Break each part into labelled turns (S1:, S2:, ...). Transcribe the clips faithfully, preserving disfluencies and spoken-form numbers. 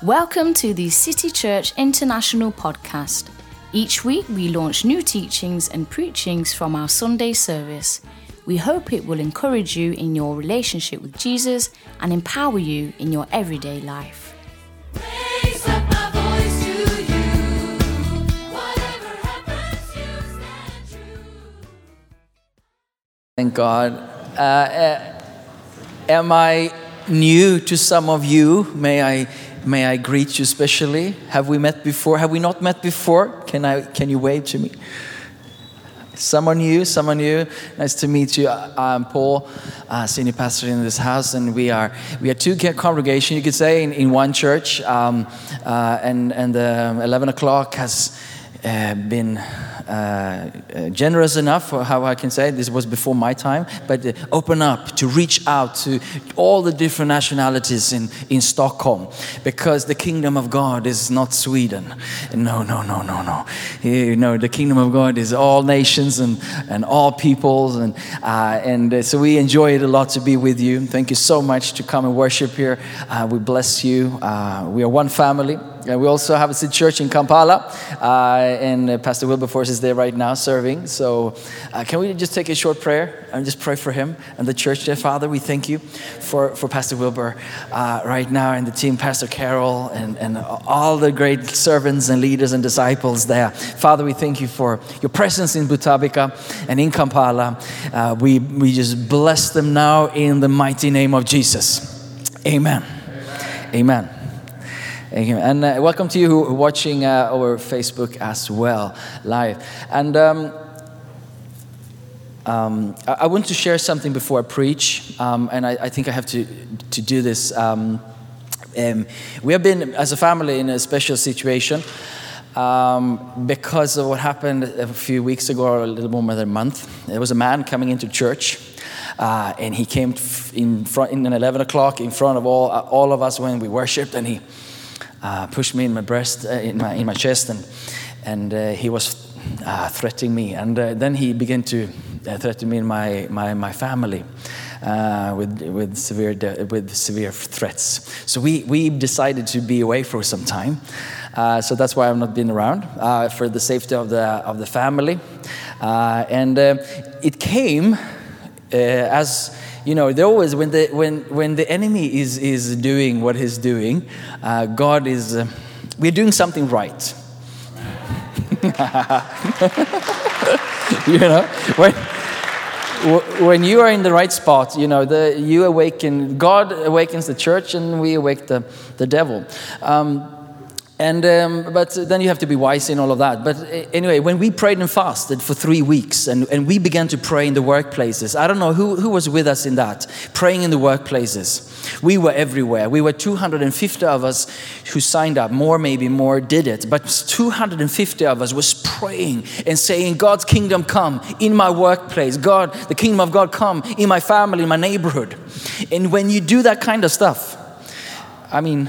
S1: Welcome to the City Church International podcast. Each week we launch new teachings and preachings from our Sunday service. We hope it will encourage you in your relationship with Jesus and empower you in your everyday life.
S2: Raise up my voice to you. Whatever happens, you stand true.
S3: Thank God. Uh, uh, am I new to some of you? May I may I greet you specially? Have we met before? Have we not met before? Can I can you wave to me? Someone new, someone new. Nice to meet you. I'm Paul, uh, senior pastor in this house, and we are we are two congregation, you could say, in, in one church. Um, uh, and and um, eleven o'clock has uh, been uh, uh, generous enough, for how I can say it. This was before my time, but uh, open up to reach out to all the different nationalities in, in Stockholm, because the kingdom of God is not Sweden. No, no, no, no, no. You know, the kingdom of God is all nations and, and all peoples, and uh, and uh, so we enjoy it a lot to be with you. Thank you so much to come and worship here. Uh, we bless you. Uh, we are one family. Uh, we also have a city church in Kampala, uh, and uh, Pastor Wilberforce is there right now serving. So uh, can we just take a short prayer and just pray for him and the church there? Father, we thank you for, for Pastor Wilbur uh, right now, and the team, Pastor Carol, and, and all the great servants and leaders and disciples there. Father, we thank you for your presence in Butabika and in Kampala. Uh, we, we just bless them now in the mighty name of Jesus. Amen. Amen. Amen. And uh, welcome to you who are watching uh, over Facebook as well, live. And um, um, I, I want to share something before I preach, um, and I, I think I have to to do this. Um, um, we have been, as a family, in a special situation um, because of what happened a few weeks ago, or a little more than a month. There was a man coming into church. Uh, and he came in front in eleven o'clock in front of all uh, all of us when we worshipped, and he Uh, pushed me in my breast, uh, in my in my chest, and and uh, he was uh, threatening me, and uh, then he began to uh, threaten me and my my my family uh, with with severe de- with severe threats. So we we decided to be away for some time. Uh, so that's why I've not been around uh, for the safety of the of the family, uh, and uh, it came uh, as. You know, there always when the when when the enemy is is doing what he's doing, uh, God is uh, we're doing something right. You know, when when you are in the right spot, you know, the you awaken. God awakens the church, and we awake the the devil. Um, And um, but then you have to be wise in all of that. But anyway, when we prayed and fasted for three weeks, and, and we began to pray in the workplaces. I don't know who, who was with us in that, praying in the workplaces. We were everywhere. We were two hundred fifty of us who signed up. More, maybe more, did it. But two hundred fifty of us was praying and saying, God's kingdom come in my workplace. God, the kingdom of God come in my family, in my neighborhood. And when you do that kind of stuff, I mean...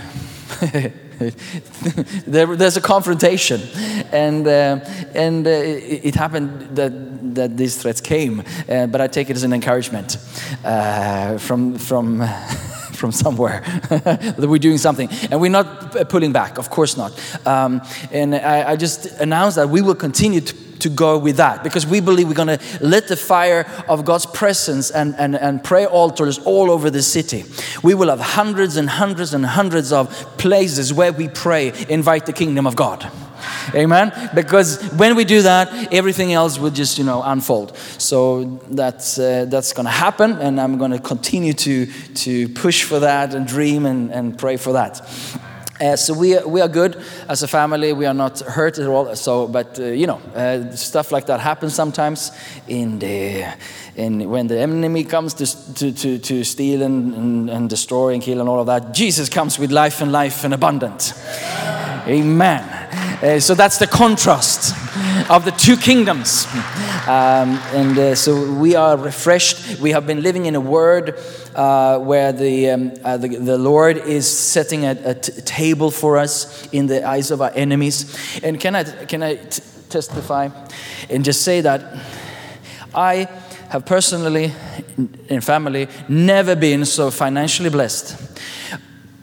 S3: there, there's a confrontation, and uh, and uh, it, it happened that that these threats came, uh, but I take it as an encouragement uh, from from from somewhere that we're doing something, and we're not pulling back, of course not. Um, and I, I just announced that we will continue to. to go with that, because we believe we're going to let the fire of God's presence and, and, and prayer altars all over the city. We will have hundreds and hundreds and hundreds of places where we pray, invite the kingdom of God. Amen. Because when we do that, everything else will just, you know, unfold. So that's uh, that's going to happen, and I'm going to continue to to push for that and dream and, and pray for that. Uh, so we are, we are good as a family. We are not hurt at all. So, but uh, you know, uh, stuff like that happens sometimes. In the in when the enemy comes to to to, to steal and, and and destroy and kill and all of that, Jesus comes with life and life and abundant. Amen. Uh, so that's the contrast of the two kingdoms. Um, and uh, so we are refreshed. We have been living in a word uh, where the, um, uh, the the Lord is setting a, a t- table for us in the eyes of our enemies. And can I can I t- testify and just say that I have personally and family never been so financially blessed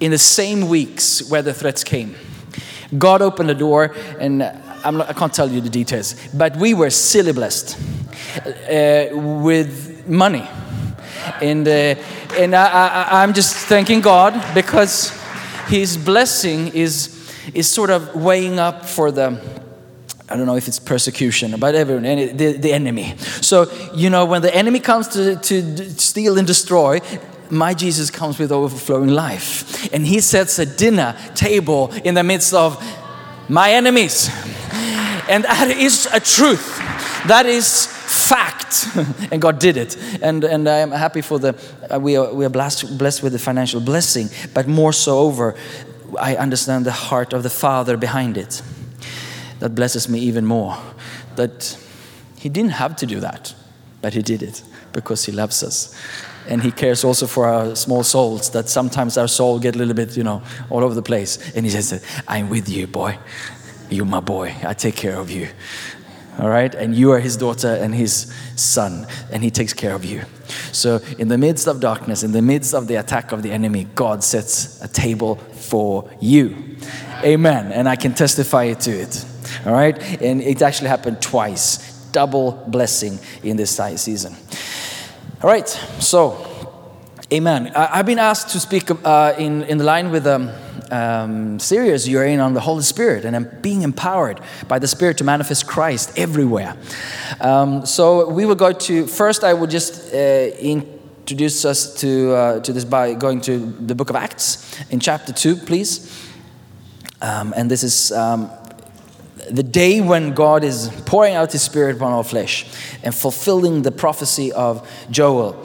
S3: in the same weeks where the threats came, God opened the door, and I'm not, I can't tell you the details, but we were silly blessed uh, with money. And, uh, and I, I, I'm just thanking God because His blessing is, is sort of weighing up for the, I don't know if it's persecution, but everyone, the, the enemy. So, you know, when the enemy comes to, to steal and destroy, my Jesus comes with overflowing life. And He sets a dinner table in the midst of my enemies. And that is a truth. That is fact. And God did it. And and I am happy for the, uh, we are, we are blessed, blessed with the financial blessing. But more so over, I understand the heart of the Father behind it. That blesses me even more. That He didn't have to do that. But He did it because He loves us. And He cares also for our small souls, that sometimes our soul get a little bit, you know, all over the place. And He says, I'm with you, boy. You're my boy. I take care of you. All right? And you are His daughter and His son. And He takes care of you. So in the midst of darkness, in the midst of the attack of the enemy, God sets a table for you. Amen. And I can testify to it. All right? And it actually happened twice. Double blessing in this season. All right, so, amen. I, I've been asked to speak uh, in, in the line with the um, um, series you're in on the Holy Spirit, and I'm being empowered by the Spirit to manifest Christ everywhere. Um, so we will go to, first I will just uh, introduce us to, uh, to this by going to the book of Acts in chapter two, please. Um, and this is um, the day when God is pouring out His Spirit upon all flesh and fulfilling the prophecy of Joel.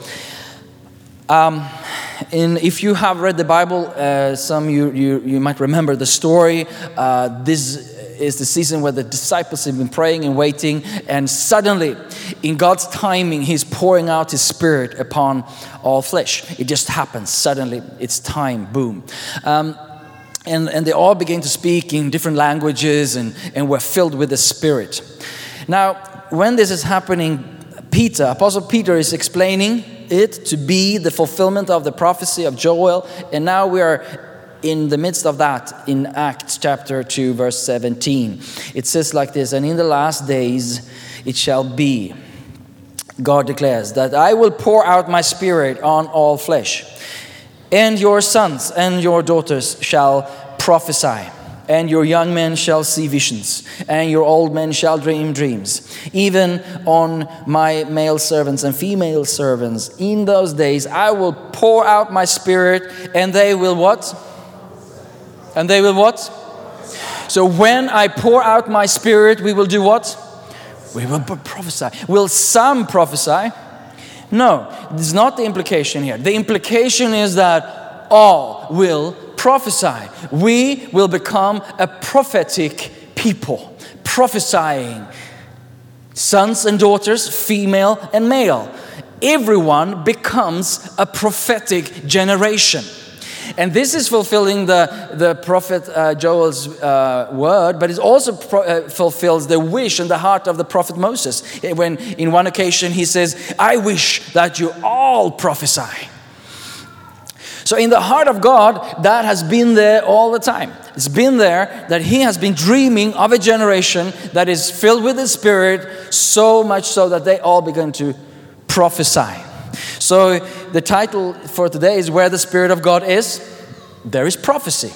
S3: Um, and if you have read the Bible, uh, some you, you you might remember the story. Uh, this is the season where the disciples have been praying and waiting, and suddenly, in God's timing, He's pouring out His Spirit upon all flesh. It just happens suddenly. It's time. Boom. Um, And, and they all began to speak in different languages and, and were filled with the Spirit. Now, when this is happening, Peter, Apostle Peter is explaining it to be the fulfillment of the prophecy of Joel. And now we are in the midst of that in Acts chapter two, verse seventeen. It says like this, and in the last days it shall be, God declares, that I will pour out my Spirit on all flesh. And your sons and your daughters shall prophesy, and your young men shall see visions, and your old men shall dream dreams. Even on my male servants and female servants, in those days I will pour out my Spirit, and they will what? And they will what? So when I pour out my Spirit, we will do what? We will prophesy. Will some prophesy? No, this is not the implication here. The implication is that all will prophesy. We will become a prophetic people, prophesying. Sons and daughters, female and male. Everyone becomes a prophetic generation. And this is fulfilling the, the prophet uh, Joel's uh, word, but it also pro- uh, fulfills the wish and the heart of the prophet Moses. When in one occasion he says, I wish that you all prophesy. So in the heart of God, that has been there all the time. It's been there that He has been dreaming of a generation that is filled with the Spirit, so much so that they all begin to prophesy. So the title for today is Where the Spirit of God Is, There is Prophecy.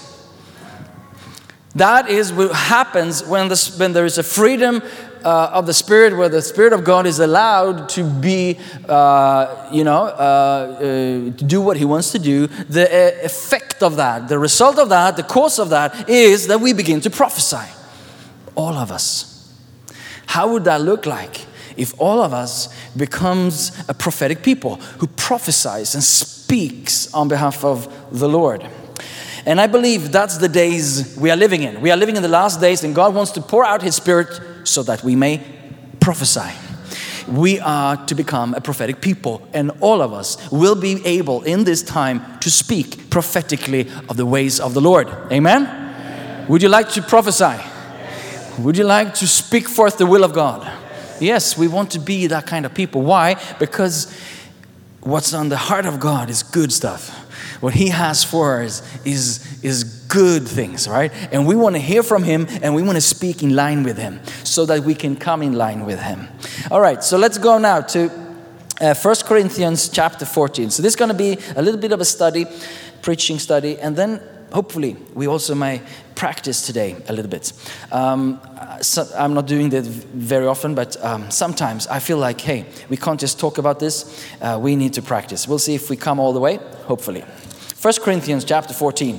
S3: That is what happens when, the, when there is a freedom uh, of the Spirit, where the Spirit of God is allowed to be, uh, you know, uh, uh, to do what He wants to do. The uh, effect of that, the result of that, the cause of that is that we begin to prophesy. All of us. How would that look like? If all of us becomes a prophetic people who prophesies and speaks on behalf of the Lord. And I believe that's the days we are living in. We are living in the last days, and God wants to pour out His Spirit so that we may prophesy. We are to become a prophetic people, and all of us will be able in this time to speak prophetically of the ways of the Lord. Amen? Amen. Would you like to prophesy? Yes. Would you like to speak forth the will of God? Yes, we want to be that kind of people. Why? Because what's on the heart of God is good stuff. What he has for us is, is good things, right? And we want to hear from him, and we want to speak in line with him so that we can come in line with him. All right, so let's go now to uh, First Corinthians chapter fourteen. So this is going to be a little bit of a study, preaching study, and then hopefully we also may practice today a little bit. Um, so I'm not doing that very often, but um, sometimes I feel like, hey, we can't just talk about this. Uh, we need to practice. We'll see if we come all the way, hopefully. First Corinthians chapter fourteen.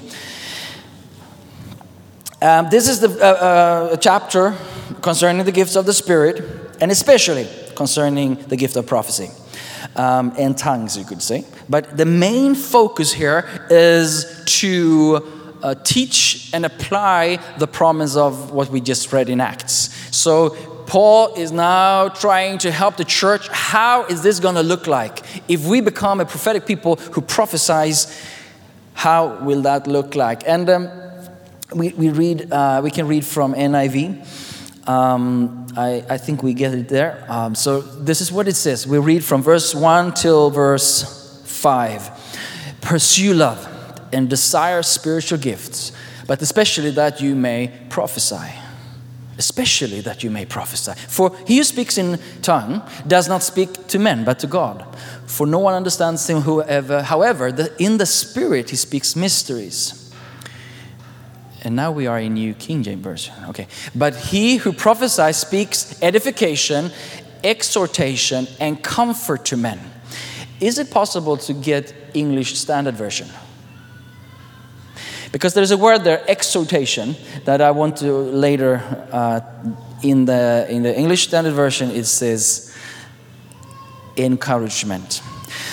S3: Um, this is the uh, uh, chapter concerning the gifts of the Spirit, and especially concerning the gift of prophecy. Um, and tongues, you could say. But the main focus here is to uh, teach and apply the promise of what we just read in Acts. So Paul is now trying to help the church. How is this going to look like? If we become a prophetic people who prophesies, how will that look like? And um, we, we read, uh, we can read from N I V. Um, I, I think we get it there. Um, so this is what it says. We read from verse one till verse five. Pursue love and desire spiritual gifts, but especially that you may prophesy. Especially that you may prophesy. For he who speaks in tongue does not speak to men, but to God. For no one understands him whoever. However, the, in the Spirit he speaks mysteries. And now we are in New King James Version. Okay. But he who prophesies speaks edification, exhortation, and comfort to men. Is it possible to get English Standard Version? Because there's a word there, exhortation, that I want to later, uh, in the in the English Standard Version, it says encouragement.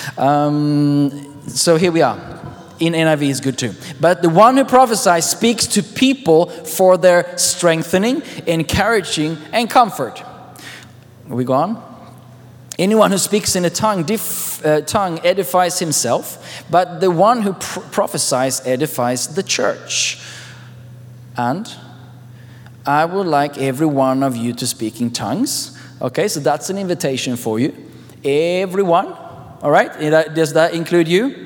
S3: Um, so here we are. In N I V is good too. But the one who prophesies speaks to people for their strengthening, encouraging, and comfort. Are we go on? Anyone who speaks in a tongue, dif, uh, tongue edifies himself, but the one who pr- prophesies edifies the church. And I would like every one of you to speak in tongues. Okay, so that's an invitation for you. Everyone. All right, does that include you?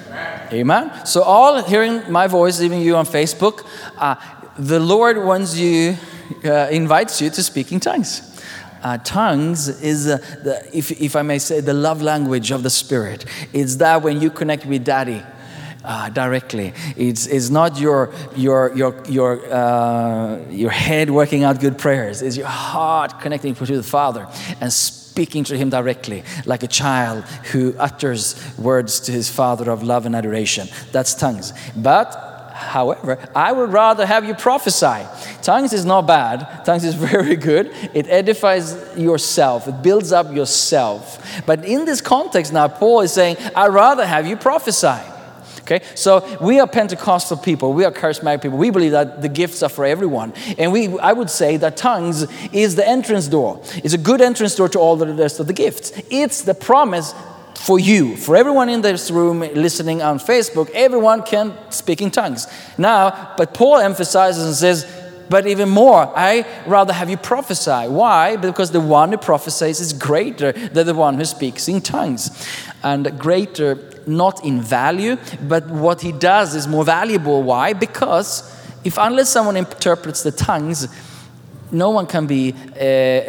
S3: Amen. So all hearing my voice, even you on Facebook, uh, the Lord wants you, uh, invites you to speak in tongues. Uh, tongues is, uh, the, if, if I may say, the love language of the Spirit. It's that when you connect with Daddy uh, directly. It's, it's not your your your your uh, your head working out good prayers. It's your heart connecting to the Father and speaking to Him directly, like a child who utters words to his Father of love and adoration. That's tongues. But however, I would rather have you prophesy. Tongues is not bad. Tongues is very good. It edifies yourself. It builds up yourself. But in this context now, Paul is saying, I'd rather have you prophesy. Okay, so we are Pentecostal people. We are charismatic people. We believe that the gifts are for everyone. And we, I would say that tongues is the entrance door. It's a good entrance door to all the rest of the gifts. It's the promise for you, for everyone in this room listening on Facebook. Everyone can speak in tongues. Now, but Paul emphasizes and says, but even more, I rather have you prophesy. Why? Because the one who prophesies is greater than the one who speaks in tongues. And greater not in value, but what he does is more valuable. Why? Because if unless someone interprets the tongues, no one can be uh, uh,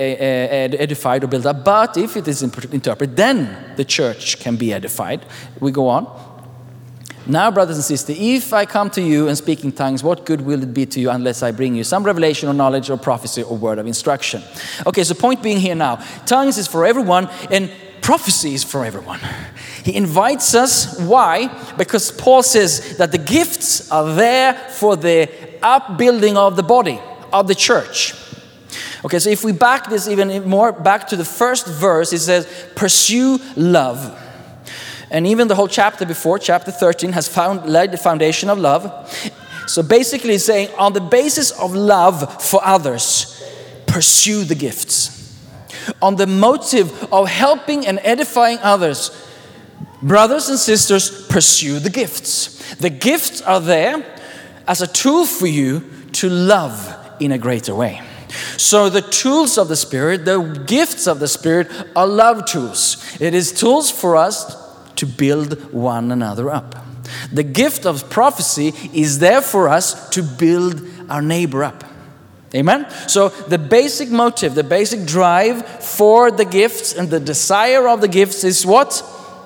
S3: edified or built up. But if it is interpreted, then the church can be edified. We go on. Now, brothers and sisters, if I come to you and speak in tongues, what good will it be to you unless I bring you some revelation or knowledge or prophecy or word of instruction? Okay, so point being here now, tongues is for everyone and prophecy is for everyone. He invites us. Why? Because Paul says that the gifts are there for the upbuilding of the body, of the church. Okay, so if we back this even more back to the first verse, it says, pursue love. And even the whole chapter before, chapter thirteen, has found laid the foundation of love. So basically he's saying, on the basis of love for others, pursue the gifts. On the motive of helping and edifying others, brothers and sisters, pursue the gifts. The gifts are there as a tool for you to love in a greater way. So the tools of the Spirit, the gifts of the Spirit are love tools. It is tools for us to build one another up. The gift of prophecy is there for us to build our neighbor up. Amen? So the basic motive, the basic drive for the gifts and the desire of the gifts is what?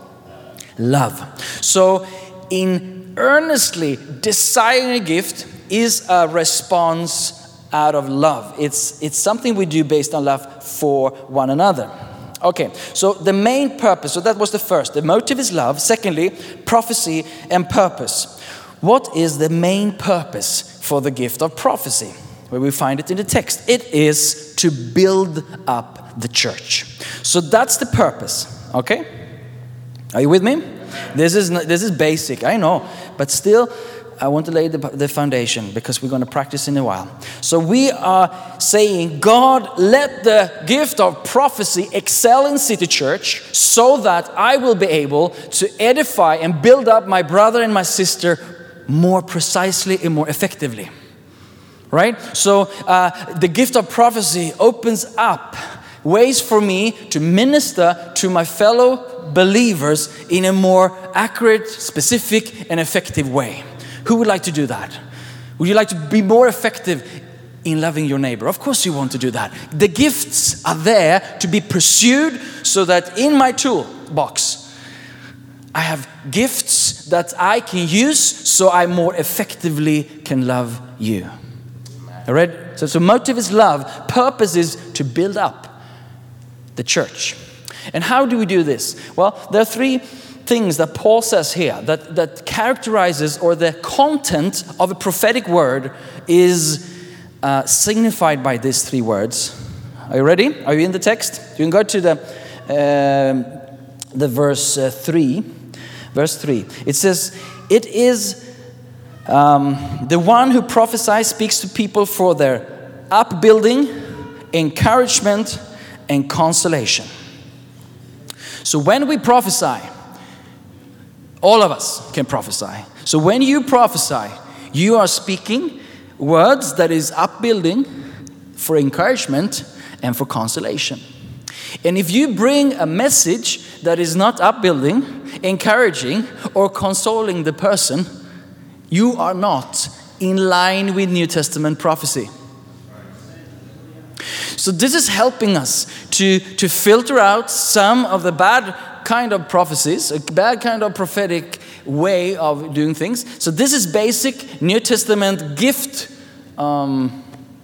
S3: Love. So in earnestly desiring a gift is a response out of love. It's, it's something we do based on love for one another. Okay, so the main purpose, so that was the first. The motive is love. Secondly, prophecy and purpose. What is the main purpose for the gift of prophecy? Where we find it in the text. It is to build up the church. So that's the purpose, okay? Are you with me? This is this is basic, I know, but still, I want to lay the, the foundation because we're going to practice in a while. So we are saying, God, let the gift of prophecy excel in City Church so that I will be able to edify and build up my brother and my sister more precisely and more effectively. Right? So uh, the gift of prophecy opens up ways for me to minister to my fellow believers in a more accurate, specific, and effective way. Who would like to do that? Would you like to be more effective in loving your neighbor? Of course you want to do that. The gifts are there to be pursued so that in my toolbox, I have gifts that I can use so I more effectively can love you. All right? So, so motive is love. Purpose is to build up the church. And how do we do this? Well, there are three things that Paul says here that, that characterizes, or the content of a prophetic word is uh, signified by these three words. Are you ready? Are you in the text? You can go to the, uh, the verse uh, three. Verse three. It says, it is um, the one who prophesies speaks to people for their upbuilding, encouragement, and consolation. So when we prophesy, all of us can prophesy. So when you prophesy, you are speaking words that is upbuilding, for encouragement, and for consolation. And if you bring a message that is not upbuilding, encouraging, or consoling the person, you are not in line with New Testament prophecy. So this is helping us to, to filter out some of the bad kind of prophecies, a bad kind of prophetic way of doing things. So this is basic New Testament gift um,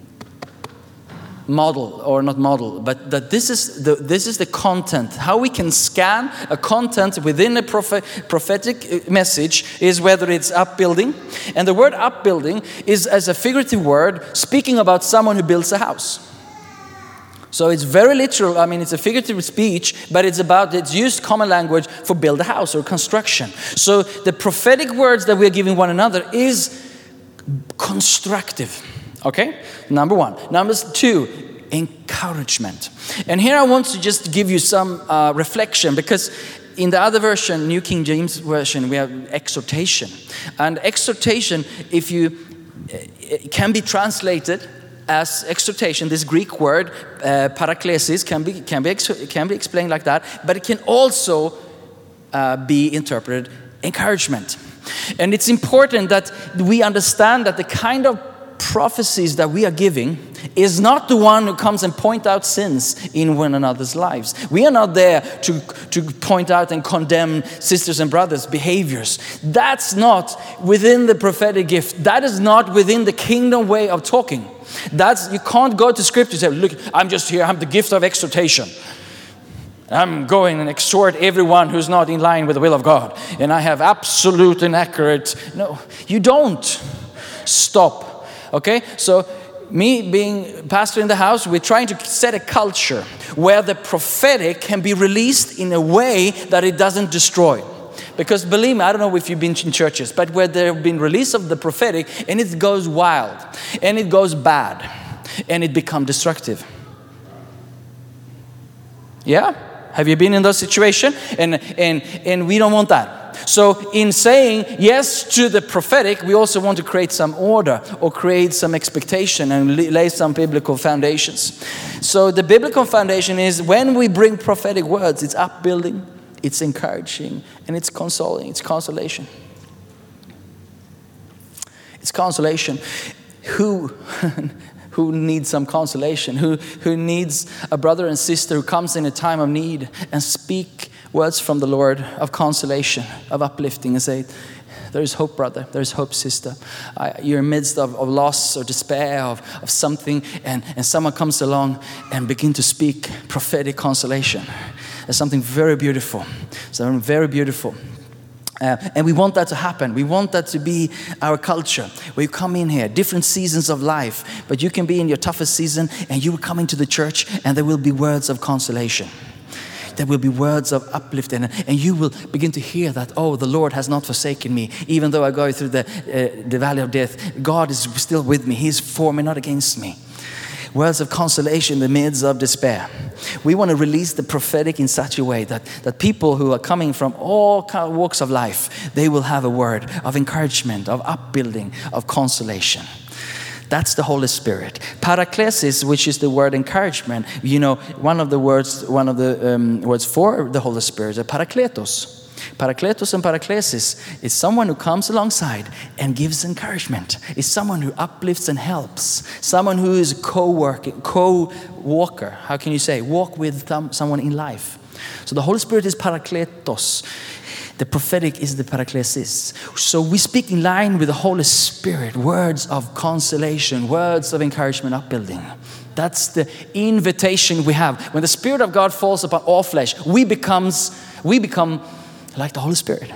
S3: model, or not model, but that this is the this is the content. How we can scan a content within a prophet, prophetic message is whether it's upbuilding, and the word upbuilding is as a figurative word speaking about someone who builds a house. So it's very literal. I mean, it's a figurative speech, but it's about, it's used common language for build a house or construction. So the prophetic words that we're giving one another is constructive. Okay? Number one. Number two, encouragement. And here I want to just give you some uh, reflection, because in the other version, New King James Version, we have exhortation. And exhortation, if you, it can be translated as exhortation. This Greek word, uh, paraklesis, can be can be ex- can be explained like that, but it can also uh, be interpreted encouragement. And it's important that we understand that the kind of prophecies that we are giving is not the one who comes and point out sins in one another's lives. We are not there to, to point out and condemn sisters and brothers' behaviors. That's not within the prophetic gift. That is not within the kingdom way of talking. That's, you can't go to scripture and say, look, I'm just here, I'm the gift of exhortation. I'm going and exhort everyone who's not in line with the will of God. And I have absolute and accurate. No, you don't. Stop. Okay? So me being pastor in the house, we're trying to set a culture where the prophetic can be released in a way that it doesn't destroy. Because believe me, I don't know if you've been in churches, but where there have been release of the prophetic and it goes wild and it goes bad and it becomes destructive. Yeah? Have you been in those situations? And, and, and we don't want that. So in saying yes to the prophetic, we also want to create some order or create some expectation and lay some biblical foundations. So the biblical foundation is when we bring prophetic words, it's upbuilding, it's encouraging, and it's consoling, it's consolation. It's consolation. Who, who needs some consolation? Who, who needs a brother and sister who comes in a time of need and speak words from the Lord of consolation, of uplifting, and say, there is hope, brother. There is hope, sister. Uh, you're in the midst of, of loss or despair of, of something, and, and someone comes along and begin to speak prophetic consolation. There's something very beautiful. Something very beautiful. Uh, and we want that to happen. We want that to be our culture. Where you come in here, different seasons of life, but you can be in your toughest season and you will come into the church and there will be words of consolation. There will be words of uplifting, and you will begin to hear that, oh, the Lord has not forsaken me. Even though I go through the, uh, the valley of death, God is still with me. He is for me, not against me. Words of consolation in the midst of despair. We want to release the prophetic in such a way that, that people who are coming from all kind of walks of life, they will have a word of encouragement, of upbuilding, of consolation. That's the Holy Spirit. Paraklesis, which is the word encouragement. You know, one of the words, one of the um, words for the Holy Spirit is parakletos. Parakletos and paraklesis is someone who comes alongside and gives encouragement. It's someone who uplifts and helps. Someone who is a co-worker, co-walker. How can you say? Walk with someone in life. So the Holy Spirit is parakletos. The prophetic is the paraklesis. So we speak in line with the Holy Spirit, words of consolation, words of encouragement, upbuilding. That's the invitation we have. When the Spirit of God falls upon all flesh, we becomes we become like the Holy Spirit.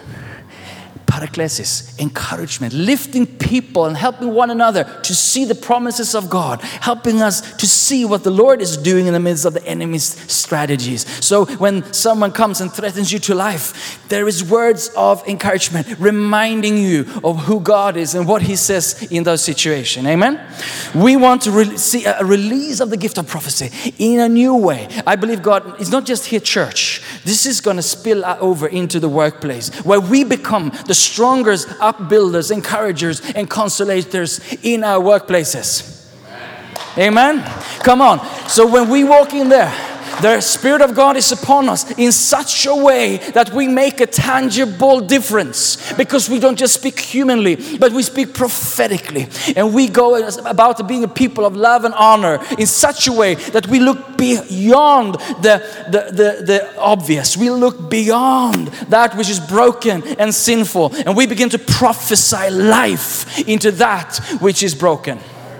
S3: Paraklesis, encouragement, lifting people and helping one another to see the promises of God, helping us to see what the Lord is doing in the midst of the enemy's strategies. So when someone comes and threatens you to life, there is words of encouragement reminding you of who God is and what He says in those situations. Amen? We want to re- see a release of the gift of prophecy in a new way. I believe God is not just here church. This is going to spill over into the workplace where we become the strongest upbuilders, encouragers, and consolators in our workplaces. Amen. Amen? Come on. So when we walk in there, the Spirit of God is upon us in such a way that we make a tangible difference, because we don't just speak humanly, but we speak prophetically, and we go about being a people of love and honor in such a way that we look beyond the, the, the, the obvious. We look beyond that which is broken and sinful, and we begin to prophesy life into that which is broken.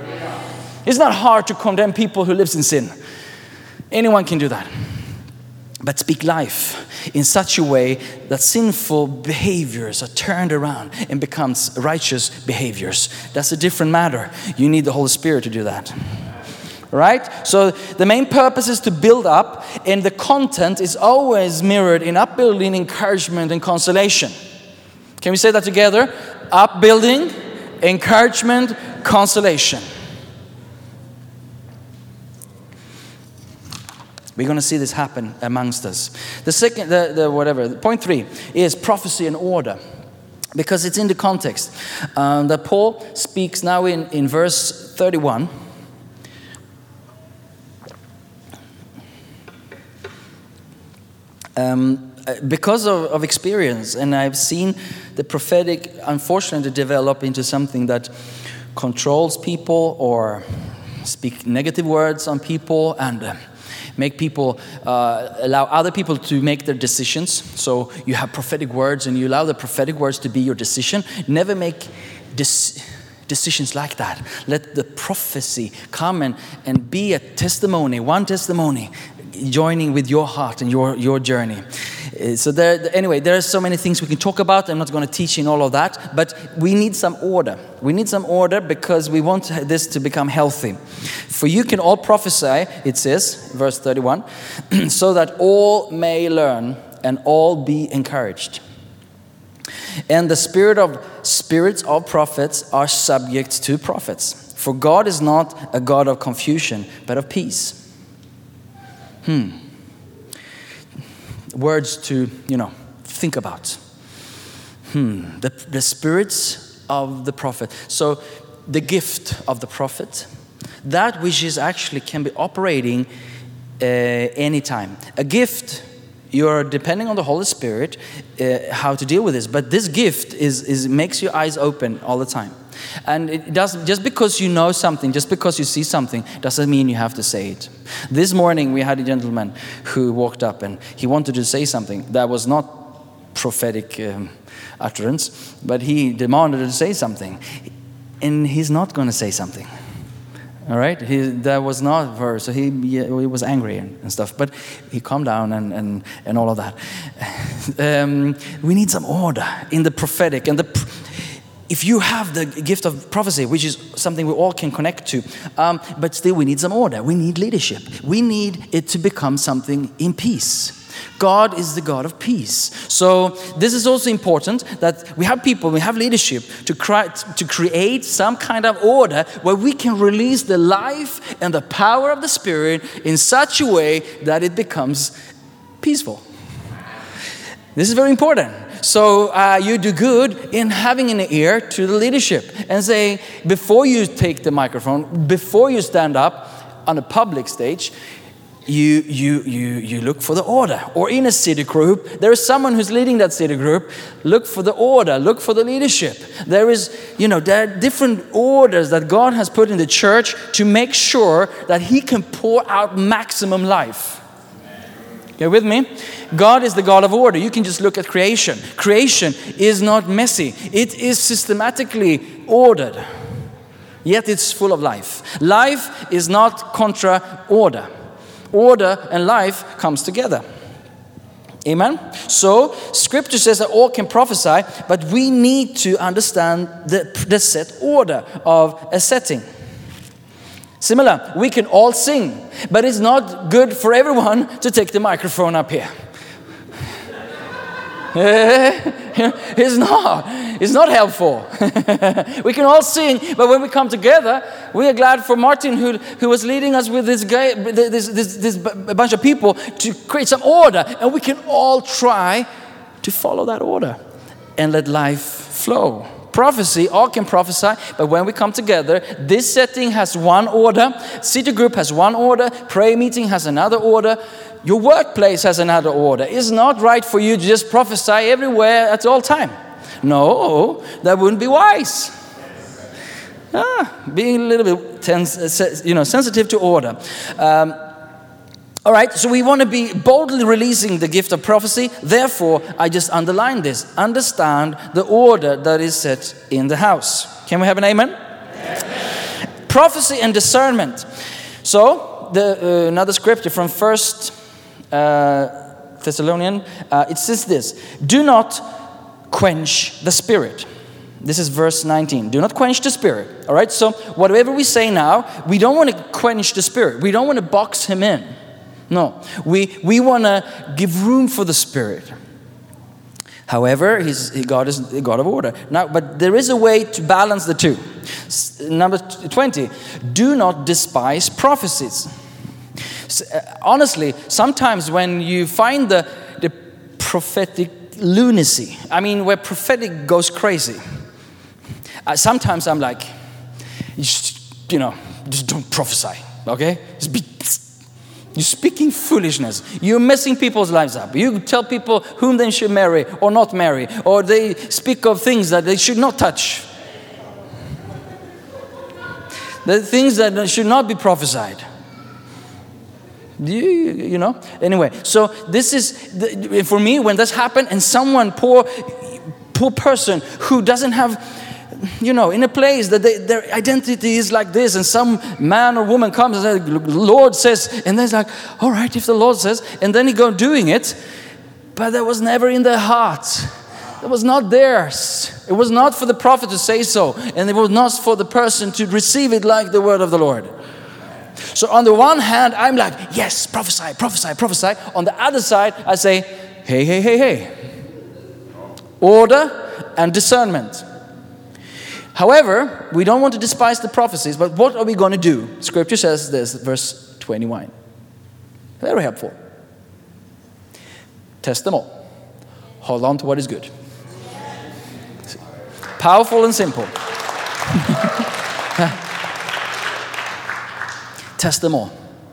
S3: It's not hard to condemn people who live in sin. Anyone can do that. But speak life in such a way that sinful behaviors are turned around and becomes righteous behaviors. That's a different matter. You need the Holy Spirit to do that. Right? So the main purpose is to build up, and the content is always mirrored in upbuilding, encouragement, and consolation. Can we say that together? Upbuilding, encouragement, consolation. We're going to see this happen amongst us. The second, the, the whatever, point three is prophecy and order, because it's in the context um, that Paul speaks now in, in verse thirty-one. Um, because of, of experience, and I've seen the prophetic, unfortunately, develop into something that controls people or speak negative words on people and uh, make people, uh, allow other people to make their decisions. So you have prophetic words and you allow the prophetic words to be your decision. Never make dis- decisions like that. Let the prophecy come and, and be a testimony, one testimony, joining with your heart and your, your journey. Uh, So there, anyway, there are so many things we can talk about. I'm not going to teach in all of that, but we need some order. We need some order because we want this to become healthy. For you can all prophesy, it says, verse thirty-one, so that all may learn and all be encouraged. And the spirit of spirits of prophets are subject to prophets. For God is not a God of confusion, but of peace. Hmm. Words to, you know, think about. Hmm. The, the spirits of the prophet. So the gift of the prophet, that which is actually can be operating uh, anytime. A gift, you're depending on the Holy Spirit uh, how to deal with this. But this gift is, is makes your eyes open all the time. And it doesn't, just because you know something, just because you see something, doesn't mean you have to say it. This morning we had a gentleman who walked up and he wanted to say something that was not prophetic um, utterance, but he demanded to say something. And he's not going to say something. All right, he, that was not her, so he, yeah, he was angry and, and stuff. But he calmed down and, and, and all of that. Um, we need some order in the prophetic. And the, if you have the gift of prophecy, which is something we all can connect to, um, but still we need some order. We need leadership. We need it to become something in peace. God is the God of peace. So this is also important that we have people, we have leadership to, cry, to create some kind of order where we can release the life and the power of the Spirit in such a way that it becomes peaceful. This is very important. So uh, you do good in having an ear to the leadership and say, before you take the microphone, before you stand up on a public stage, You, you, you, you look for the order. Or in a city group, there is someone who's leading that city group. Look for the order. Look for the leadership. There is, you know, there are different orders that God has put in the church to make sure that He can pour out maximum life. You with me? God is the God of order. You can just look at creation. Creation is not messy. It is systematically ordered. Yet it's full of life. Life is not contra order. Order and life comes together. Amen? So, Scripture says that all can prophesy, but we need to understand the, the set order of a setting. Similar, we can all sing, but it's not good for everyone to take the microphone up here. It's not. It's not helpful. We can all sing, but when we come together, we are glad for Martin, who who was leading us with this guy, this this this a bunch of people to create some order, and we can all try to follow that order and let life flow. Prophecy, all can prophesy, but when we come together, this setting has one order, city group has one order, prayer meeting has another order, your workplace has another order. It's not right for you to just prophesy everywhere at all time. No, that wouldn't be wise. Ah, being a little bit tense, you know, sensitive to order. Um, All right, so we want to be boldly releasing the gift of prophecy. Therefore, I just underline this. Understand the order that is set in the house. Can we have an amen? Amen. Prophecy and discernment. So, the, uh, another scripture from First uh, Thessalonians, uh, it says this. Do not quench the spirit. This is verse nineteen. Do not quench the spirit. All right, so whatever we say now, we don't want to quench the spirit. We don't want to box him in. No, we, we want to give room for the Spirit. However, he's, God is a God of order. Now, but there is a way to balance the two. S- Number twenty, do not despise prophecies. S- uh, honestly, sometimes when you find the, the prophetic lunacy, I mean, where prophetic goes crazy, uh, sometimes I'm like, just, you know, just don't prophesy, okay? Just be... You're speaking foolishness. You're messing people's lives up. You tell people whom they should marry or not marry, or they speak of things that they should not touch. The things that should not be prophesied. You, you know? Anyway, so this is, the, for me, when this happened and someone, poor, poor person who doesn't have, you know, in a place that they, their identity is like this, and some man or woman comes and says, the Lord says, and they're like, all right, if the Lord says, and then he go doing it, but that was never in their heart. It was not theirs. It was not for the prophet to say so, and it was not for the person to receive it like the word of the Lord. So on the one hand, I'm like, yes, prophesy, prophesy, prophesy. On the other side, I say, hey, hey, hey, hey. Order and discernment. However, we don't want to despise the prophecies, but what are we going to do? Scripture says this, verse twenty-one. Very helpful. Test them all. Hold on to what is good. Powerful and simple. Test them all.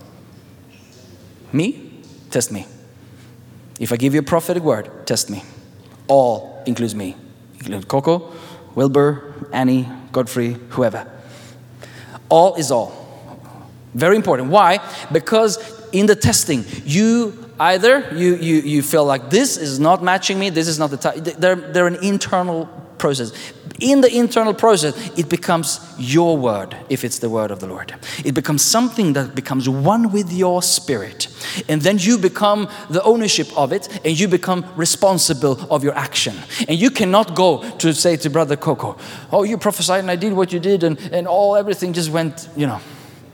S3: Me? Test me. If I give you a prophetic word, test me. All includes me. Include Coco, Wilbur, Annie, Godfrey, whoever. All is all. Very important. Why? Because in the testing, you either you you you feel like this is not matching me, this is not the type. They're they're an internal process. In the internal process, it becomes your word, if it's the word of the Lord. It becomes something that becomes one with your spirit. And then you become the ownership of it, and you become responsible of your action. And you cannot go to say to Brother Coco, oh, you prophesied and I did what you did, and, and all everything just went, you know.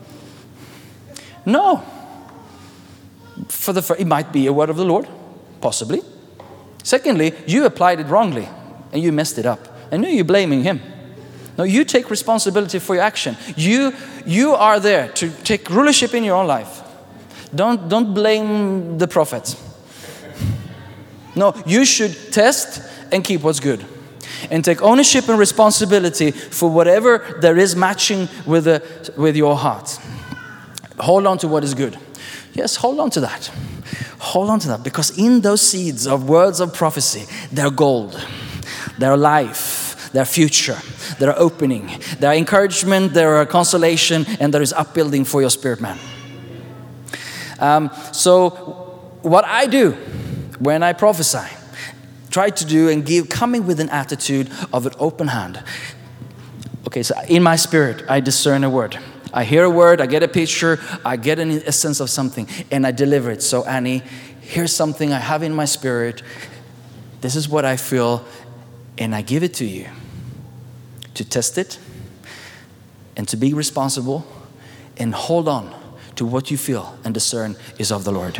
S3: No. For the fir- it might be a word of the Lord, possibly. Secondly, you applied it wrongly, and you messed it up. And now you're blaming him. No, you take responsibility for your action. You you are there to take rulership in your own life. Don't don't blame the prophet. No, you should test and keep what's good. And take ownership and responsibility for whatever there is matching with the, with your heart. Hold on to what is good. Yes, hold on to that. Hold on to that, because in those seeds of words of prophecy, they're gold. Their life, their future, their opening, their encouragement, their consolation, and there is upbuilding for your spirit man. Um, so what I do when I prophesy, try to do and give, coming with an attitude of an open hand. Okay, so in my spirit, I discern a word. I hear a word, I get a picture, I get an essence of something, and I deliver it. So Annie, here's something I have in my spirit. This is what I feel. And I give it to you to test it and to be responsible and hold on to what you feel and discern is of the Lord.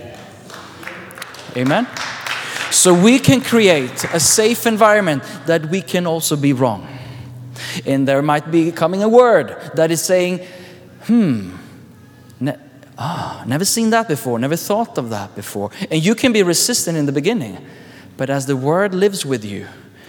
S3: Amen? So we can create a safe environment that we can also be wrong. And there might be coming a word that is saying, hmm, ne- ah, never seen that before, never thought of that before. And you can be resistant in the beginning. But as the word lives with you,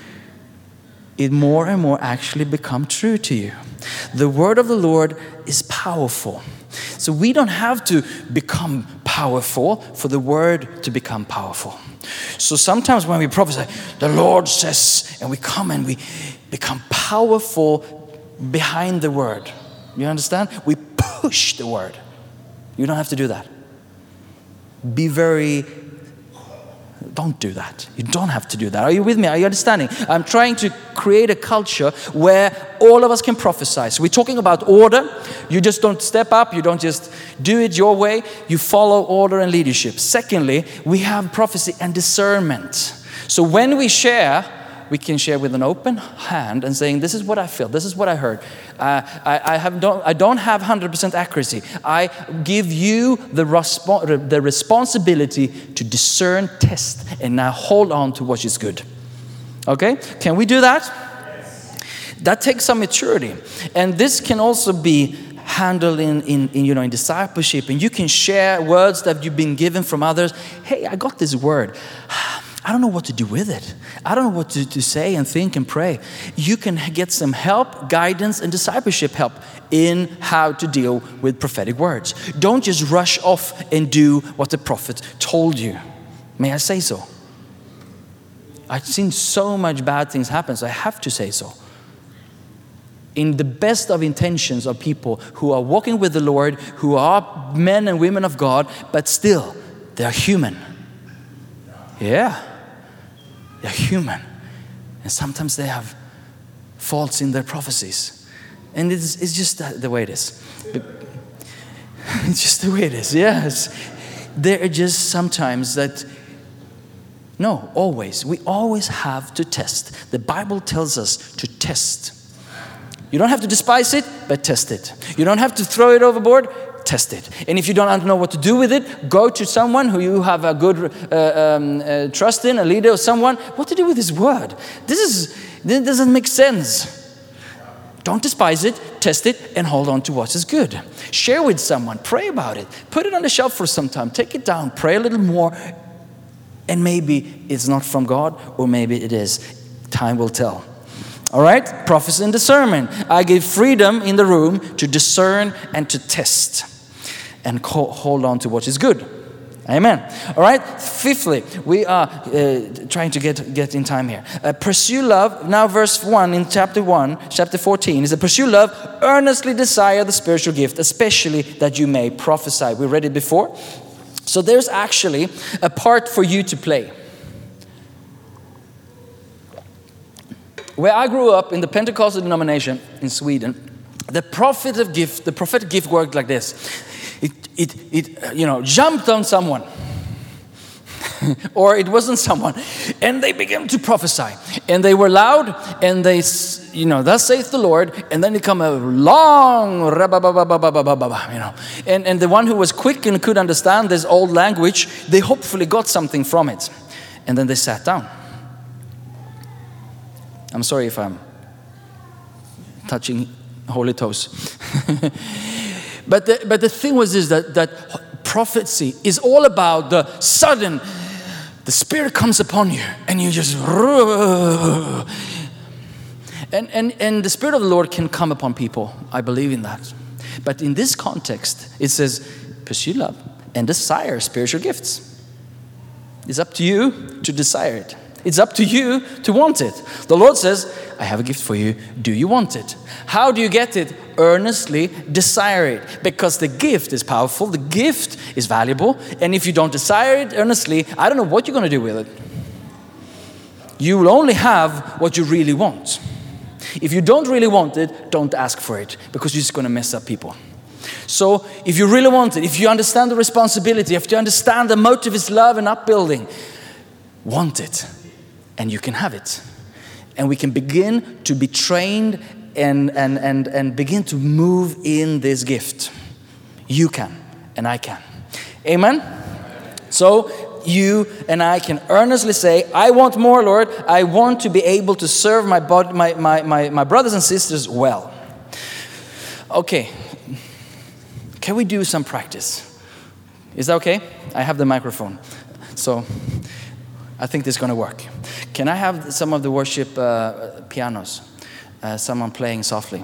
S3: it more and more actually become true to you. The word of the Lord is powerful. So we don't have to become powerful for the word to become powerful. So sometimes when we prophesy, the Lord says, and we come and we become powerful behind the word. You understand? We push the word. You don't have to do that. Be very Don't do that. You don't have to do that. Are you with me? Are you understanding? I'm trying to create a culture where all of us can prophesy. So we're talking about order. You just don't step up. You don't just do it your way. You follow order and leadership. Secondly, we have prophecy and discernment. So when we share, we can share with an open hand and saying, this is what I feel, this is what I heard. Uh, I, I, have don't, I don't have one hundred percent accuracy. I give you the, respo- the responsibility to discern, test, and now hold on to what is good. Okay? Can we do that? Yes. That takes some maturity. And this can also be handled in, in, in, you know, in discipleship. And you can share words that you've been given from others. Hey, I got this word. I don't know what to do with it. I don't know what to, to say and think and pray. You can get some help, guidance, and discipleship help in how to deal with prophetic words. Don't just rush off and do what the prophet told you. May I say so? I've seen so much bad things happen, so I have to say so. In the best of intentions of people who are walking with the Lord, who are men and women of God, but still, they're human. Yeah. They're human. And sometimes they have faults in their prophecies. And it's, it's just the way it is. It's just the way it is, yes. There are just sometimes that, no, always. We always have to test. The Bible tells us to test. You don't have to despise it, but test it. You don't have to throw it overboard, test it. And if you don't know what to do with it, go to someone who you have a good uh, um, uh, trust in, a leader or someone. What to do with this word? This is this doesn't make sense. Don't despise it, test it, and hold on to what is good. Share with someone, pray about it. Put it on the shelf for some time. Take it down, pray a little more, and maybe it's not from God, or maybe it is. Time will tell. All right, prophecy and discernment. I give freedom in the room to discern and to test and hold on to what is good. Amen. All right. Fifthly, we are uh, trying to get get in time here. Uh, pursue love. Now, verse one in chapter one, chapter fourteen is that pursue love. Earnestly desire the spiritual gift, especially that you may prophesy. We read it before. So there's actually a part for you to play. Where I grew up in the Pentecostal denomination in Sweden, the prophetic gift, the prophetic gift worked like this. It, it, it, you know, jumped on someone, or it wasn't someone, and they began to prophesy, and they were loud, and they, you know, thus saith the Lord, and then it come a long, you know, and and the one who was quick and could understand this old language, they hopefully got something from it, and then they sat down. I'm sorry if I'm touching holy toes. But the, but the thing was is that, that prophecy is all about the sudden, the Spirit comes upon you and you just, and, and, and the Spirit of the Lord can come upon people. I believe in that. But in this context, it says, pursue love and desire spiritual gifts. It's up to you to desire it. It's up to you to want it. The Lord says, I have a gift for you. Do you want it? How do you get it? Earnestly desire it. Because the gift is powerful. The gift is valuable. And if you don't desire it earnestly, I don't know what you're going to do with it. You will only have what you really want. If you don't really want it, don't ask for it. Because you're just going to mess up people. So if you really want it, if you understand the responsibility, if you understand the motive is love and upbuilding, want it. And you can have it. And we can begin to be trained and, and, and, and begin to move in this gift. You can, and I can. Amen? So you and I can earnestly say, I want more, Lord. I want to be able to serve my, body, my, my, my, my brothers and sisters well. Okay. Can we do some practice? Is that okay? I have the microphone. So I think this is going to work. Can I have some of the worship uh, pianos? Uh, someone playing softly.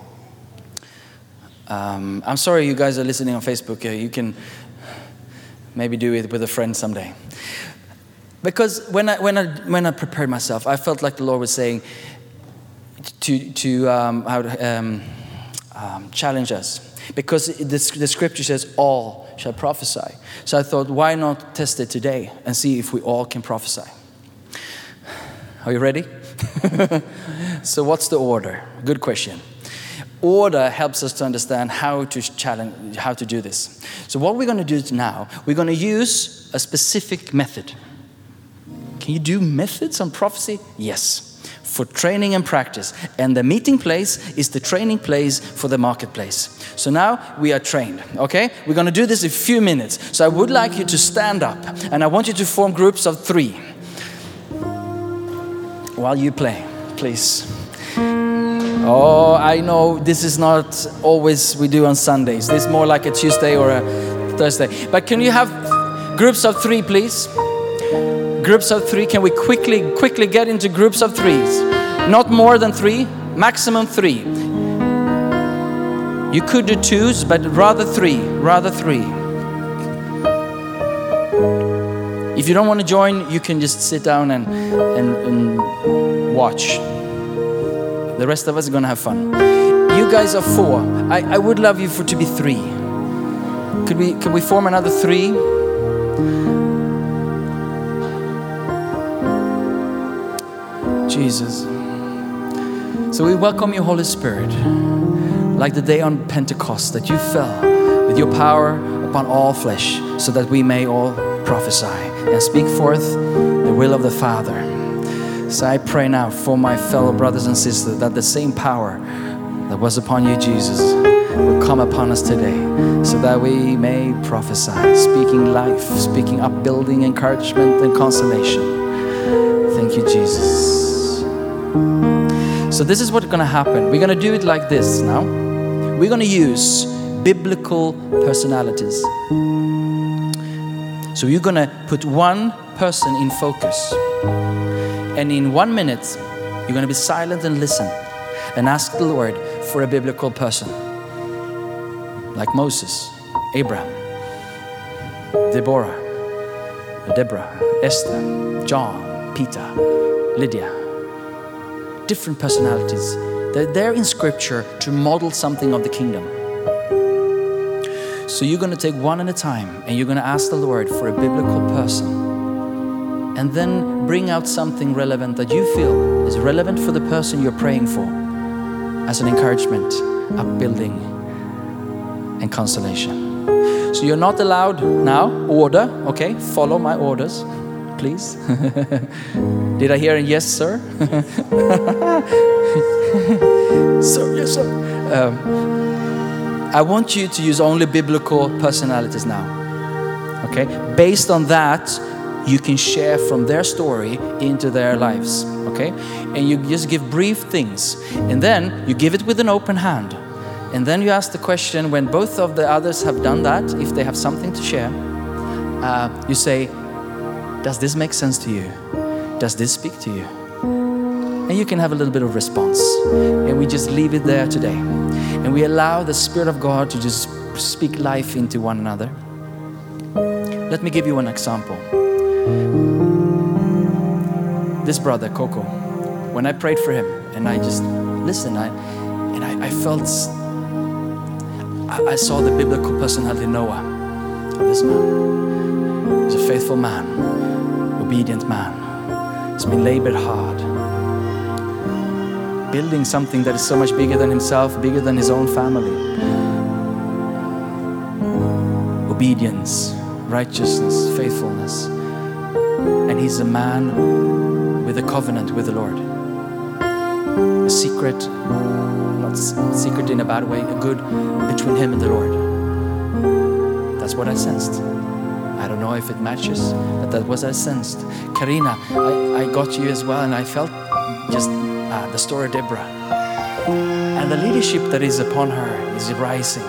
S3: Um, I'm sorry you guys are listening on Facebook. Uh, you can maybe do it with a friend someday. Because when I when I when I prepared myself, I felt like the Lord was saying to to um, how to, um, um, challenge us. Because the, the scripture says all shall prophesy. So I thought, why not test it today and see if we all can prophesy? Are you ready? So what's the order? Good question. Order helps us to understand how to challenge, how to do this. So what we're going to do now, we're going to use a specific method. Can you do methods on prophecy? Yes. For training and practice. And the meeting place is the training place for the marketplace. So now we are trained, okay? We're going to do this in a few minutes. So I would like you to stand up and I want you to form groups of three while you play, please. Oh, I know this is not always we do on Sundays. This is more like a Tuesday or a Thursday. But can you have groups of three, please? Groups of three. Can we quickly, quickly get into groups of threes? Not more than three, maximum three. You could do twos, but rather three, rather three. If you don't want to join, you can just sit down and, and, and watch. The rest of us are going to have fun. You guys are four. I, I would love you for to be three. Could we, could we form another three? Jesus. So we welcome you, Holy Spirit, like the day on Pentecost, that you fell with your power upon all flesh, so that we may all prophesy and speak forth the will of the Father. So I pray now for my fellow brothers and sisters that the same power that was upon you, Jesus, will come upon us today, so that we may prophesy, speaking life, speaking upbuilding, encouragement, and consolation. Thank you, Jesus. So this is what's going to happen. We're going to do it like this now. We're going to use biblical personalities. So you're going to put one person in focus. And in one minute, you're going to be silent and listen and ask the Lord for a biblical person. Like Moses, Abraham, Deborah, Deborah, Esther, John, Peter, Lydia. Different personalities. They're there in scripture to model something of the kingdom. So you're going to take one at a time and you're going to ask the Lord for a biblical person. And then bring out something relevant that you feel is relevant for the person you're praying for as an encouragement, upbuilding, and consolation. So you're not allowed now, order, okay? Follow my orders, please. Did I hear a yes, sir? Sir, yes, sir. Um, I want you to use only biblical personalities now, okay? Based on that, you can share from their story into their lives, okay? And you just give brief things. And then you give it with an open hand. And then you ask the question, when both of the others have done that, if they have something to share, uh, you say, does this make sense to you? Does this speak to you? And you can have a little bit of response. And we just leave it there today. And we allow the Spirit of God to just speak life into one another. Let me give you an example. This brother, Coco, when I prayed for him and I just listened, I, and I, I felt, I, I saw the biblical personality Noah of this man. He's a faithful man, obedient man. He's been labored hard, building something that is so much bigger than himself, bigger than his own family. Obedience, righteousness, faithfulness. And he's a man with a covenant with the Lord. A secret, not secret in a bad way, a good between him and the Lord. That's what I sensed. I don't know if it matches, but that was I sensed. Karina, I, I got you as well, and I felt just uh, the story of Deborah. And the leadership that is upon her is rising.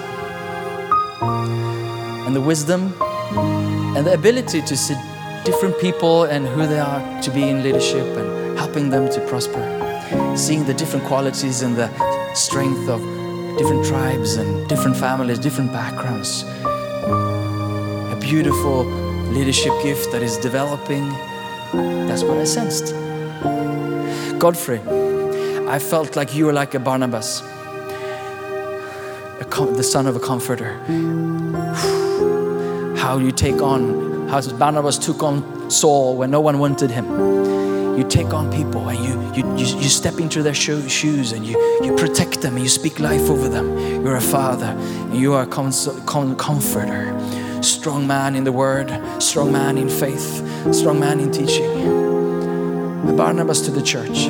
S3: And the wisdom and the ability to see different people and who they are to be in leadership and helping them to prosper. Seeing the different qualities and the strength of different tribes and different families, different backgrounds. A beautiful leadership gift that is developing. That's what I sensed. Godfrey, I felt like you were like a Barnabas, a com- the son of a comforter. How you take on, how Barnabas took on Saul when no one wanted him. You take on people and you you you, you step into their sho- shoes and you, you protect them and you speak life over them. You're a father and you are a cons- com- comforter. Strong man in the word, strong man in faith, strong man in teaching. A Barnabas to the church.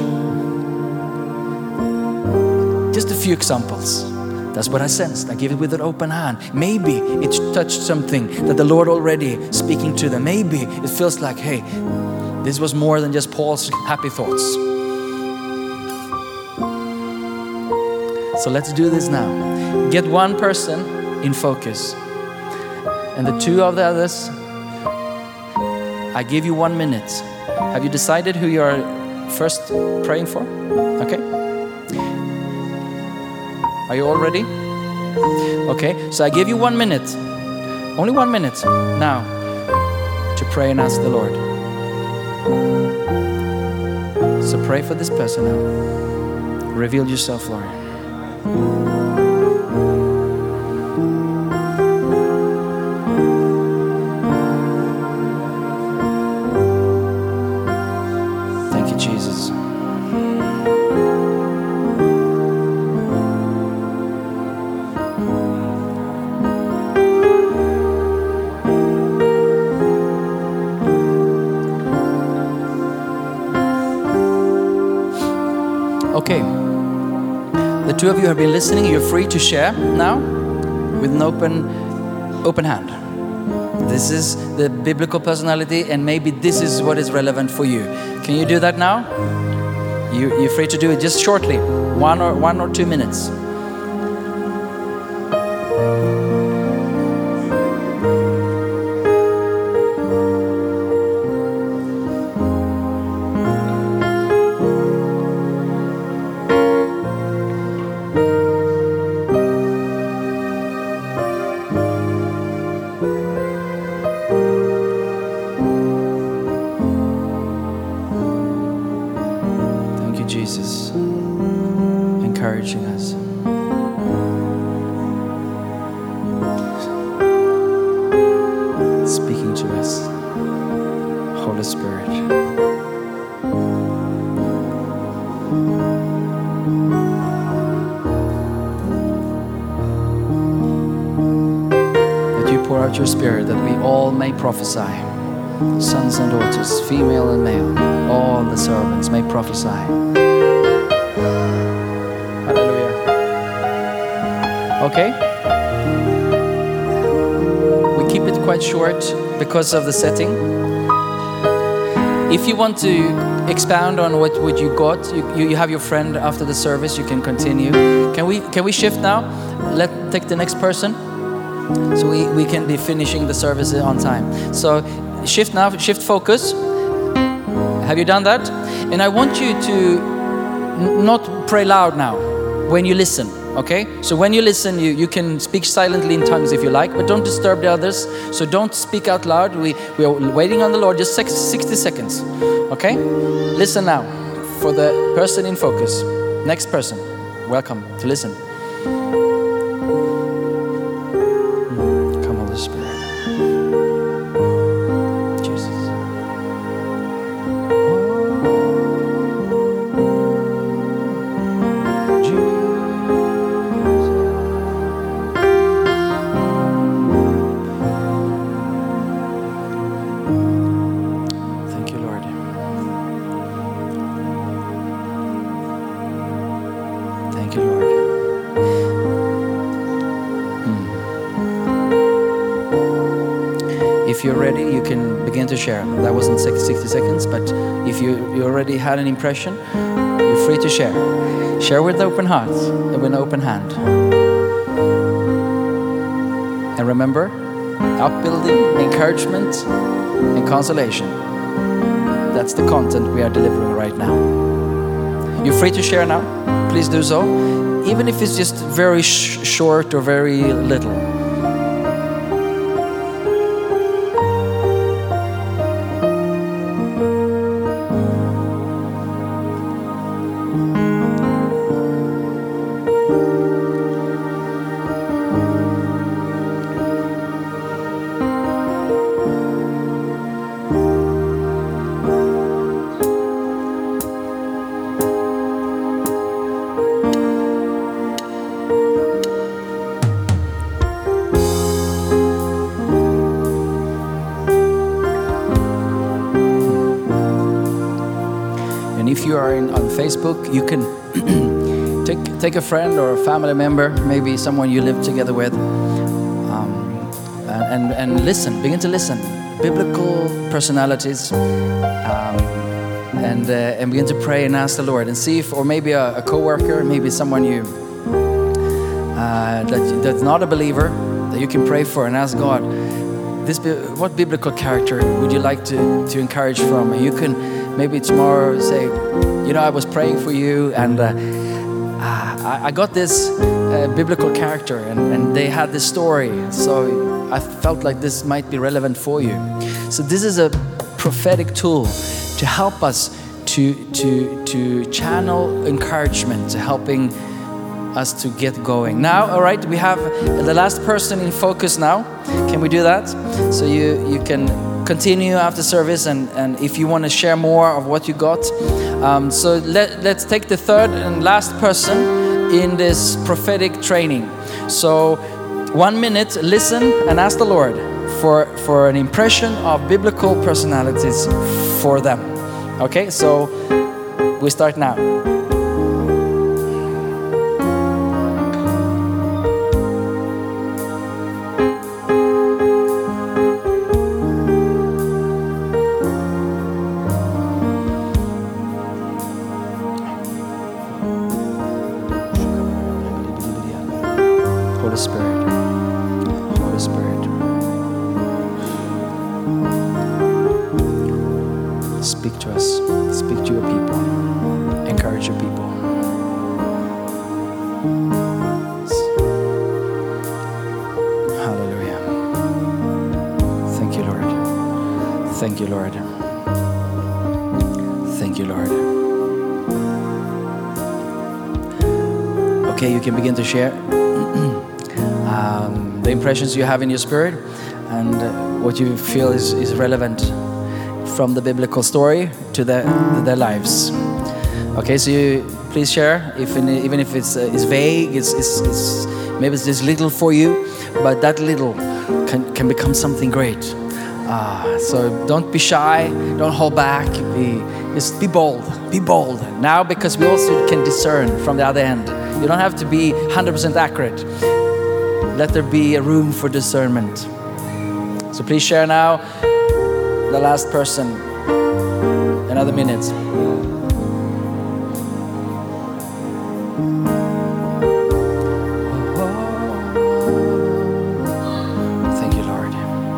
S3: Just a few examples. That's what I sensed. I gave it with an open hand. Maybe it touched something that the Lord already speaking to them. Maybe it feels like, hey, this was more than just Paul's happy thoughts. So let's do this now. Get one person in focus. And the two of the others, I give you one minute. Have you decided who you are first praying for? Okay. Are you all ready? Okay, so I give you one minute, only one minute now to pray and ask the Lord. So pray for this person now. Reveal yourself, Lord. Thank you, Jesus. Okay, the two of you have been listening. You're free to share now with an open, open hand. This is the biblical personality, and maybe this is what is relevant for you. Can you do that now? You, you're free to do it just shortly, one or one or two minutes. Jesus. Encouraging us. Speaking to us. Holy Spirit. That you pour out your Spirit, that we all may prophesy. Sons and daughters, female and male, all the servants may prophesy. Hallelujah. Okay? We keep it quite short because of the setting. If you want to expound on what, what you got, you, you, you have your friend after the service, you can continue. Can we can we shift now? Let take the next person. So we, we can be finishing the service on time. So shift now, shift focus. Have you done that? And I want you to n- not pray loud now when you listen, okay? So when you listen, you, you can speak silently in tongues if you like, but don't disturb the others. So don't speak out loud. We, we are waiting on the Lord, just sixty seconds, okay? Listen now for the person in focus. Next person, welcome to listen. Come, Holy Spirit. If you're ready, you can begin to share. That wasn't sixty seconds, but if you, you already had an impression, you're free to share. Share with open heart and with an open hand. And remember, upbuilding, encouragement, and consolation. That's the content we are delivering right now. You're free to share now. Please do so. Even if it's just very sh- short or very little. If you are in, on Facebook, you can take take a friend or a family member, maybe someone you live together with, um, and, and and listen. Begin to listen. Biblical personalities, um, and uh, and begin to pray and ask the Lord and see if, or maybe a, a coworker, maybe someone you uh, that that's not a believer, that you can pray for and ask God, this what biblical character would you like to to encourage from? And you can. Maybe tomorrow say, you know, I was praying for you and uh, I, I got this uh, biblical character and, and they had this story. So I felt like this might be relevant for you. So this is a prophetic tool to help us to, to, to channel encouragement, to helping us to get going. Now, all right, we have the last person in focus now. Can we do that? So you, you can continue after service, and, and if you want to share more of what you got. Um, so let, let's take the third and last person in this prophetic training. So one minute, listen and ask the Lord for, for an impression of biblical personalities for them. Okay, so we start now. Holy Spirit, Holy Spirit, speak to us, speak to your people, encourage your people. Hallelujah. Thank you, Lord. Thank you, Lord. Thank you, Lord. Okay, you can begin to share um, the impressions you have in your spirit and uh, what you feel is, is relevant from the biblical story to, the, to their lives. Okay, so you please share, if in, even if it's, uh, it's vague, it's, it's, it's, maybe it's just little for you, but that little can, can become something great. Uh, so don't be shy, don't hold back, be, just be bold, be bold. Now, because we also can discern from the other end. You don't have to be one hundred percent accurate. Let there be a room for discernment. So please share now, the last person, another minute. Thank you, Lord.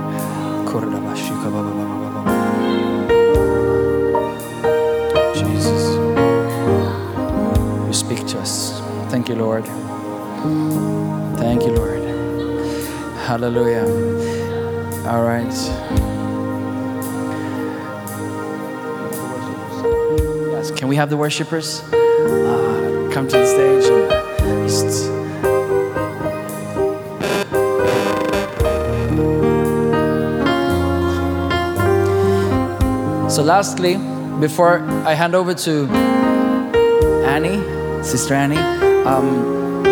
S3: Jesus, you speak to us. Thank you, Lord. Thank you, Lord. Hallelujah. All right. Yes, can we have the worshipers uh, come to the stage and just... So lastly, before I hand over to Annie, Sister Annie, um,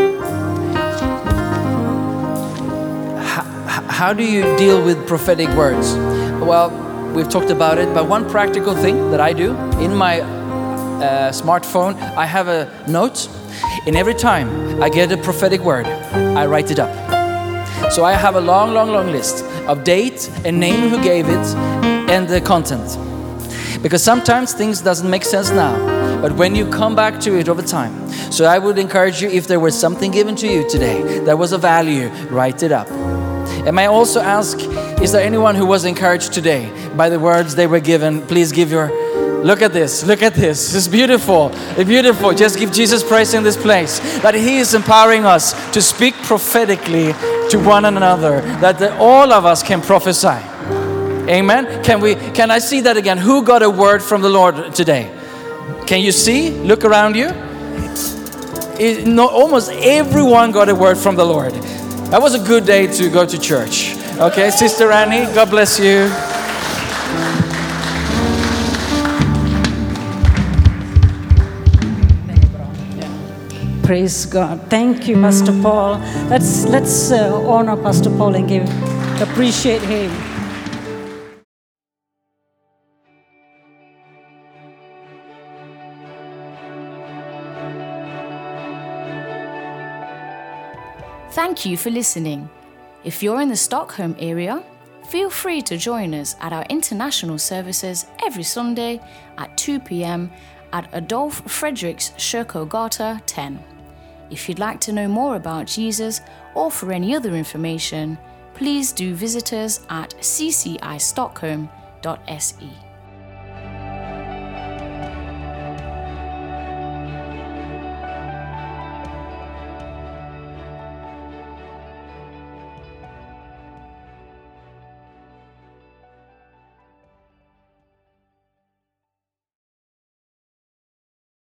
S3: how, how do you deal with prophetic words? Well, we've talked about it, but one practical thing that I do in my uh, smartphone, I have a note, and every time I get a prophetic word, I write it up. So I have a long, long, long list of date and name who gave it and the content. Because sometimes things doesn't make sense now, but when you come back to it over time. So I would encourage you, if there was something given to you today that was of value, write it up. And may I also ask, is there anyone who was encouraged today by the words they were given? Please give your, look at this, look at this. It's beautiful, it's beautiful. Just give Jesus praise in this place. That He is empowering us to speak prophetically to one another, that the, all of us can prophesy. Amen. Can we? Can I see that again? Who got a word from the Lord today? Can you see? Look around you. It, no, almost everyone got a word from the Lord. That was a good day to go to church. Okay, Sister Annie, God bless you.
S4: Praise God. Thank you, Pastor Paul. Let's let's uh, honor Pastor Paul and give appreciate him.
S1: Thank you for listening. If you're in the Stockholm area, feel free to join us at our international services every Sunday at two p.m. at Adolf Fredriks Kyrkogata ten. If you'd like to know more about Jesus or for any other information, please do visit us at c c i stockholm dot s e.